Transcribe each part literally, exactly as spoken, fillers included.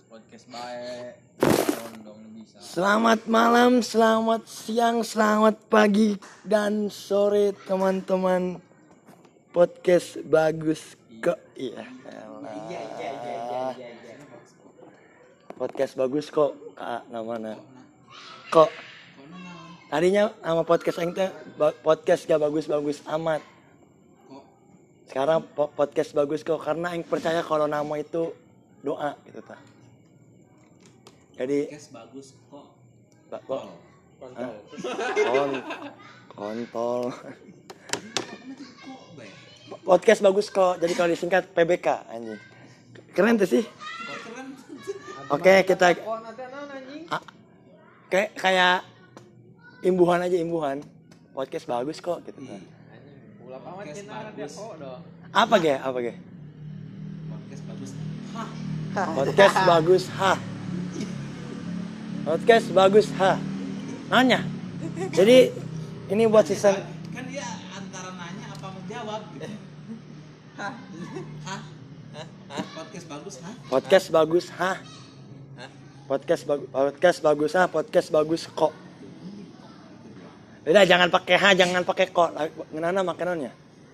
podcast baik. Dong bisa. Selamat malam, selamat siang, selamat pagi dan sore teman-teman podcast bagus kok. Iya. Iya iya iya iya iya. Podcast bagus kok, Kak, namanya. Kok. Tadinya nama podcast aing teh podcast gak bagus-bagus amat. Sekarang podcast bagus kok karena aing percaya kalau nama itu doa gitu ta. Jadi podcast bagus kok. Ba- kok kontol. Kon kontol. Podcast bagus kok. Jadi kalau disingkat P B K anjing. Keren tuh sih. Oke, kita A- kayak kayak imbuhan aja imbuhan. Podcast bagus kok gitu kan. Podcast bagus. Apa ge? Apa ge? Podcast bagus. Podcast bagus ha. Podcast bagus ha. Nanya. Jadi ini buat season Kan dia antara nanya apa menjawab gitu. Hah? Hah? Hah? Podcast bagus hah? podcast bagus ha. Podcast bagus podcast bagus ha, podcast bagus kok. Udah jangan pakai ha, jangan pakai kok. Ngeunana make naonnya?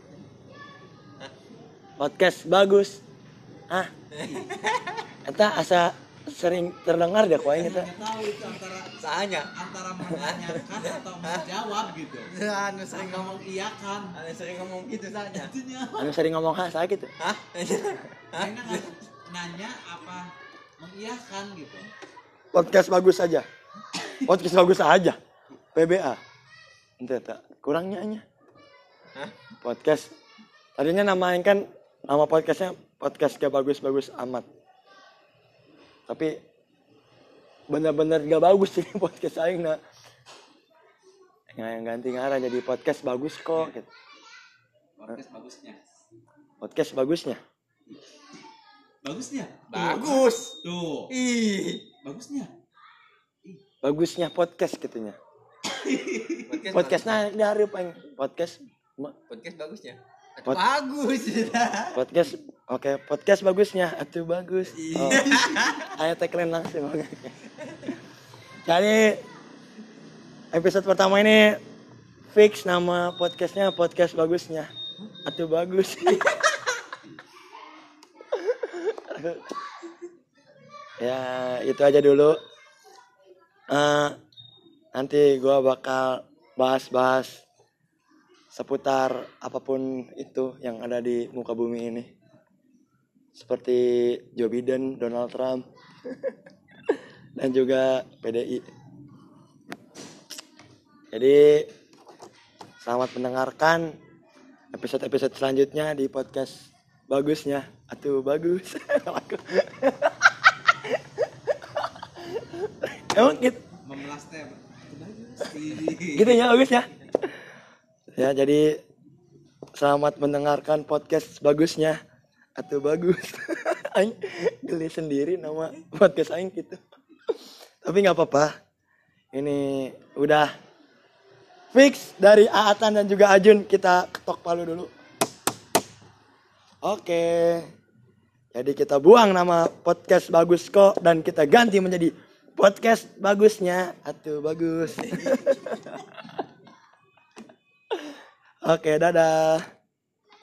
Podcast bagus. Ah. Eta asa sering terdengar deh ku aing eta. Nggak tahu itu antara Sahanya antara menanyakan atau menjawab gitu. anu sering Atau ngomong mengiyakan. anu sering ngomong gitu sahanya. Itunya. Anu sering ngomong ha saya gitu. Hah? Karena nggak nanya apa mengiyakan gitu. Podcast bagus aja. Podcast bagus aja. P B A. Ente tak kurangnya nya. Hah? Podcast. Tadinya namain kan nama podcastnya podcast gak bagus-bagus amat. Tapi bener-bener gak bagus sih podcast aing na. Yang ganti ngarah jadi podcast bagus kok gitu. Podcast bagusnya. Podcast bagusnya. Bagusnya. Bagus. Tuh. Ih. Bagusnya. Bagusnya podcast gitunya. Podcast Podcastnya dihareup aing. Podcast ma- podcast bagusnya. Pod- Bagus. podcast oke podcast bagusnya atuh bagus. Oh. Ayo tagline langsung. Jadi episode pertama ini fix nama podcastnya podcast bagusnya atuh bagus. Ya itu aja dulu. Uh, nanti gua bakal bahas-bahas seputar apapun itu yang ada di muka bumi ini. Seperti Joe Biden, Donald Trump, dan juga P D I. Jadi selamat mendengarkan episode-episode selanjutnya di podcast bagusnya. Atuh bagus. Emang gitu, Memelas teh. Bagus. gitu ya bagus ya. Ya jadi selamat mendengarkan podcast bagusnya. Atuh bagus. Aing geli sendiri nama podcast aing gitu. Tapi nggak apa-apa. Ini udah fix dari Aatan dan juga Ajun, kita ketok palu dulu. Oke. Jadi kita buang nama podcast bagus kok dan kita ganti menjadi podcast bagusnya. Atuh bagus. Oke, dadah.